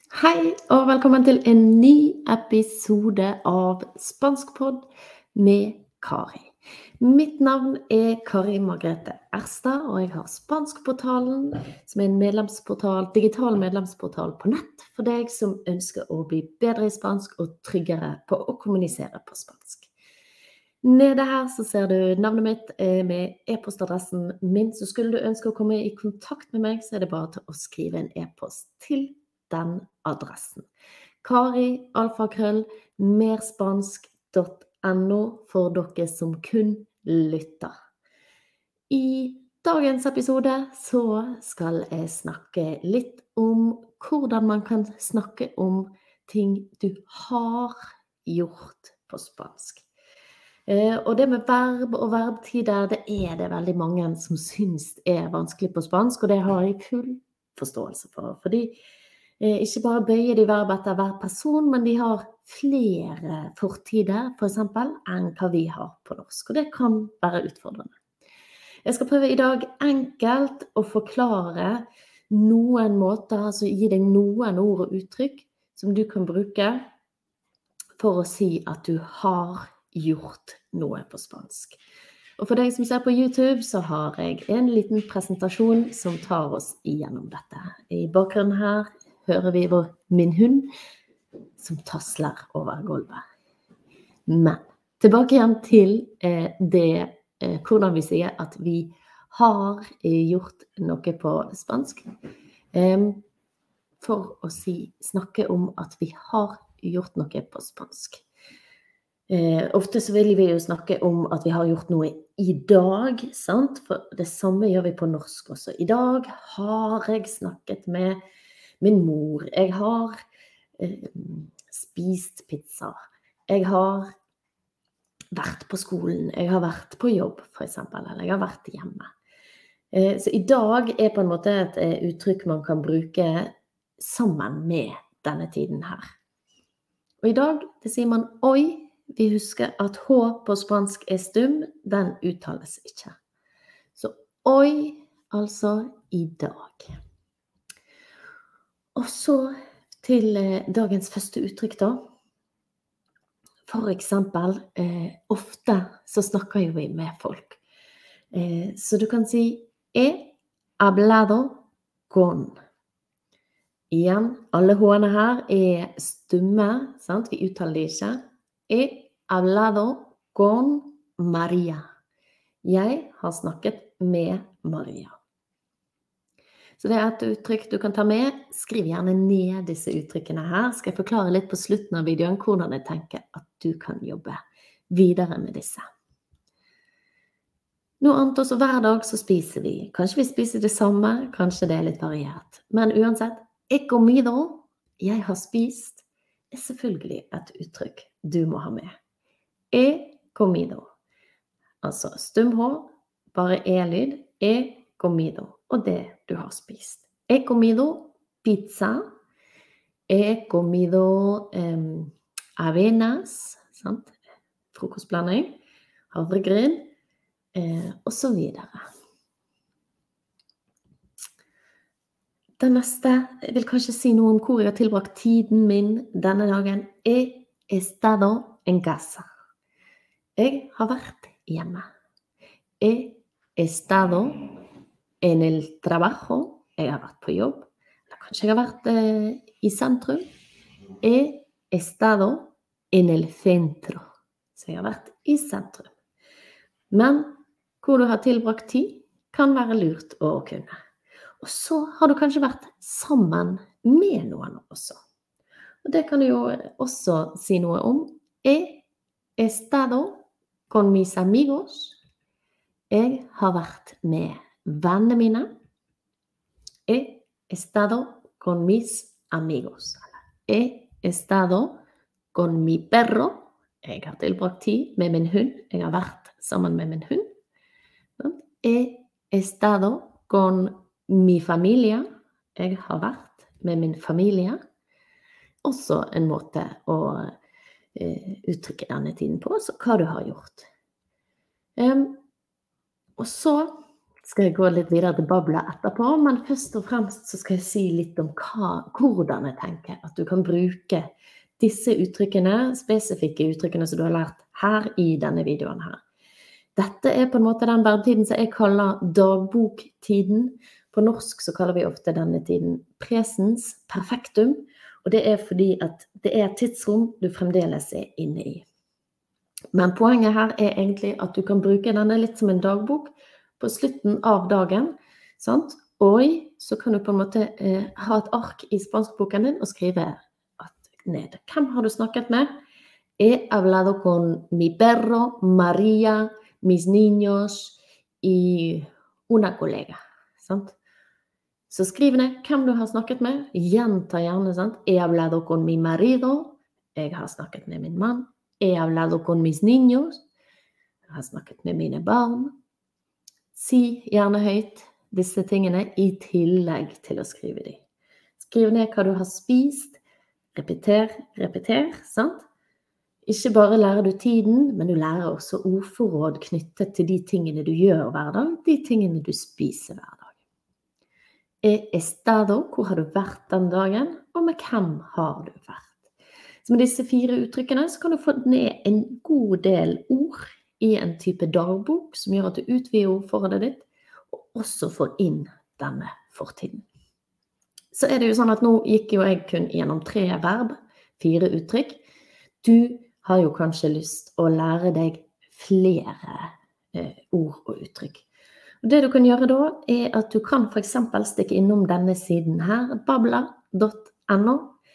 Hei, og velkommen til en ny episode av Spanskpod med Kari. Mitt navn er Kari Margrethe Erstad, og jeg har Spanskportalen, som er en digital medlemsportal på nett for deg som ønsker å bli bedre i spansk og tryggere på å kommunisere på spansk. Nede her så ser du navnet mitt med e-postadressen min, så skulle du ønske å komme i kontakt med meg, så er det bare til å skrive en e-post til den adressen. Kari@merspansk.no for dere som kun lytter. I dagens episode så skal jeg snakke litt om hvordan man kan snakke om ting du har gjort på spansk. Og det med verb og verbtider, det er det veldig mange som synes er vanskelig på spansk, og det har jeg full forståelse for. Fordi ikke bare bøyer de verb etter hver person, men de har flere fortider, for eksempel, enn hva vi har på norsk. Og det kan være utfordrende. Jeg skal prøve i dag enkelt å forklare noen måter, altså gi deg noen ord og uttrykk som du kan bruke for å si at du har gjort noe på spansk. Og for deg som ser på YouTube, så har jeg en liten presentasjon som tar oss igjennom dette. I bakgrunnen her hører vi min hund som tasler over gulvet. Men tilbake igjen til hvordan vi sier at vi har gjort noe på spansk. For å snakke om at vi har gjort noe på spansk. Ofte så vil vi jo snakke om at vi har gjort noe i dag, sant? For det samme gjør vi på norsk også. I dag har jeg snakket med min mor. Jeg har spist pizza. Jeg har vært på skolen. Jeg har vært på jobb, for eksempel. Eller jeg har vært hjemme. Så i dag er på en måte et uttrykk man kan bruke sammen med denne tiden her. Og i dag, det sier man oi. Vi husker at H på spansk er stum, den uttales ikke. Så oi, altså i dag. Og så til dagens første uttrykk da. For eksempel, ofte så snakker jo vi med folk. Så du kan si he hablado con. Igjen, alle H-ene her er stumme, sant? Vi uttaler det ikke. He hablado con Maria. Jeg har snakket med Maria. Så det er et uttrykk du kan ta med. Skriv gjerne ned disse uttrykkene her. Skal jeg forklare litt på slutten av videoen hvordan jeg tenker at du kan jobbe videre med disse. Noe annet også, hver dag så spiser vi. Kanskje vi spiser det samme, kanskje det er litt variert. Men uansett, he comido, jeg har spist, er selvfølgelig et uttrykk du må ha med. He comido. Altså stum H, bare E-lyd. He comido. Og det du har spist. He comido pizza. He comido avenas. Sant? Frokostblanding. Havregryn. Og så videre. Den neste, jeg vil kanskje si noe om hvor jeg har tilbrakt tiden min denne dagen. He estado en casa. Jeg har vært hjemme. He estado en el trabajo. Jeg har vært på jobb. Eller kanskje jeg har vært i sentrum. He estado en el centro. Så jeg har vært i sentrum. Men hvor du har tilbrakt tid kan være lurt å kunne. Og så har du kanskje vært sammen med noen også. Og det kan du jo også si noe om. He estado con mis amigos. Jeg har vært med vennene mine. He estado con mis amigos. He estado con mi perro. Jeg har tilbrakt tid med min hund. Jeg har vært sammen med min hund. He estado con mi familie. Jeg har vært med min familie. Også en måte å uttrykke denne tiden på, så hva du har gjort. Og så skal jeg gå litt videre til babla etterpå, men først og fremst så skal jeg si litt om hvordan jeg tenker at du kan bruke disse uttrykkene, spesifikke uttrykkene som du har lært her i denne videoen her. Dette på en måte den verbtiden som jeg kaller dagboktiden. På norsk så kaller vi ofte denne tiden presens perfektum, og det fordi at det et tidsrom du fremdeles inne i. Men poenget her egentlig at du kan bruke denne litt som en dagbok på slutten av dagen, sant? Og så kan du på en måte ha et ark i spanskboken din og skrive ned. Hvem har du snakket med? He hablado con mi perro, Maria, mis niños y una colega. Sant? Så skriv ned hvem du har snakket med. Gjenta gjerne, sant? He hablado con mi marido. Jeg har snakket med min mann. He hablado con mis niños. Jeg har snakket med mine barn. Si gjerne høyt disse tingene i tillegg til å skrive dem. Skriv ned hva du har spist. Repeter, sant? Ikke bare lærer du tiden, men du lærer også ordforråd knyttet til de tingene du gjør hver dag, de tingene du spiser hver dag. He estado, hvor har du vært den dagen, og med hvem har du vært? Så med disse 4 uttrykkene så kan du få ned en god del ord i en type dagbok, som gjør at du utvider ordforrådet ditt, og også får inn denne fortiden. Så det jo sånn at nå gikk jo jeg kun gjennom 3 verb, 4 uttrykk. Du har jo kanskje lyst å lære deg flere ord og uttrykk. Og det du kan gjøre da, at du kan for eksempel stikke innom denne siden her, babla.no.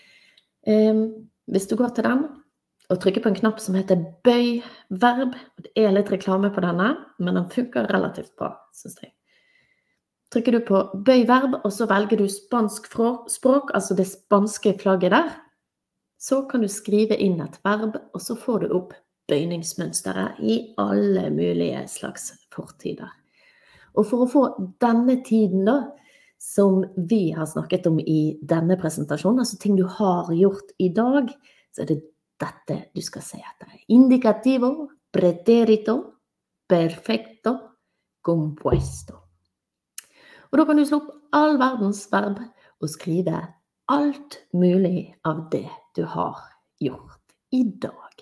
Hvis du går til den og trykker på en knapp som heter bøy verb, det litt reklame på denne, men den funker relativt bra, synes jeg. Trykker du på bøy verb, og så velger du spansk språk, altså det spanske flagget der, så kan du skrive inn et verb, og så får du opp bøyningsmønsteret i alle mulige slags fortider. Og for å få denne tiden da, som vi har snakket om i denne presentasjonen, altså ting du har gjort i dag, så det dette du skal se etter. Indicativo, preterito, perfecto, compuesto. Og da kan du slå opp all verdens verb og skrive alt mulig av det du har gjort i dag.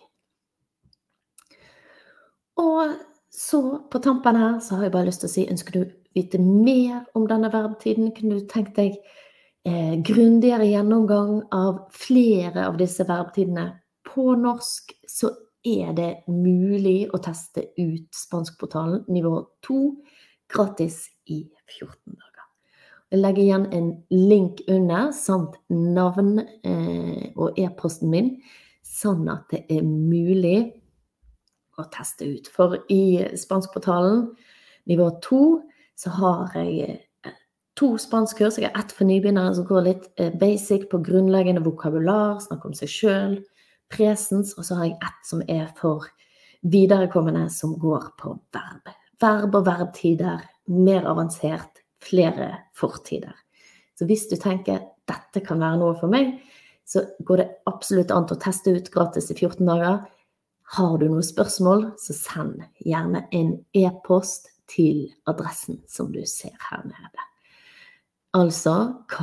Og så på tampen her så har jeg bare lyst til å si, ønsker du vite mer om denne verbtiden? Kunne du tenkt deg grundigere gjennomgang av flere av disse verbtidene? På norsk så det mulig å teste ut spanskportalen nivå 2 gratis i 14 dager. Jeg legger igjen en link under, samt navn og e-posten min, sånn at det mulig å teste ut. For i spanskportalen nivå 2 så har jeg 2 spanskkurs. Jeg har 1 for nybegynnere som går litt basic på grunnleggende vokabular, snakker om seg selv, presens, og så har jeg 1 som for viderekommende som går på verb. Verb og verbtider, mer avansert, flere fortider. Så hvis du tenker, dette kan være noe for meg, så går det absolutt an å teste ut gratis i 14 dager. Har du noen spørsmål, så send gjerne en e-post til adressen som du ser her nede. Altså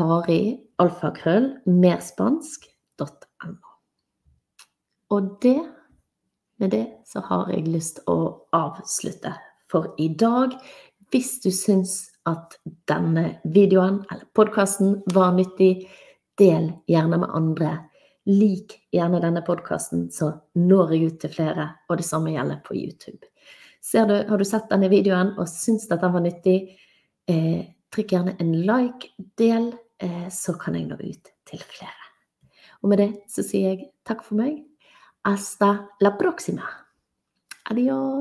kari@merspansk.no. Og med det så har jeg lyst å avslutte for i dag. Hvis du syns at denne videoen eller podcasten var nyttig, del gjerne med andre. Lik gjerne denne podcasten, så når jeg ut til flere, og det samme gjelder på YouTube. Har du sett denne videoen og syns at den var nyttig, trykk gjerne en like, del, så kan jeg nå ut til flere. Og med det så sier jeg takk for meg. Hasta la próxima. Adiós.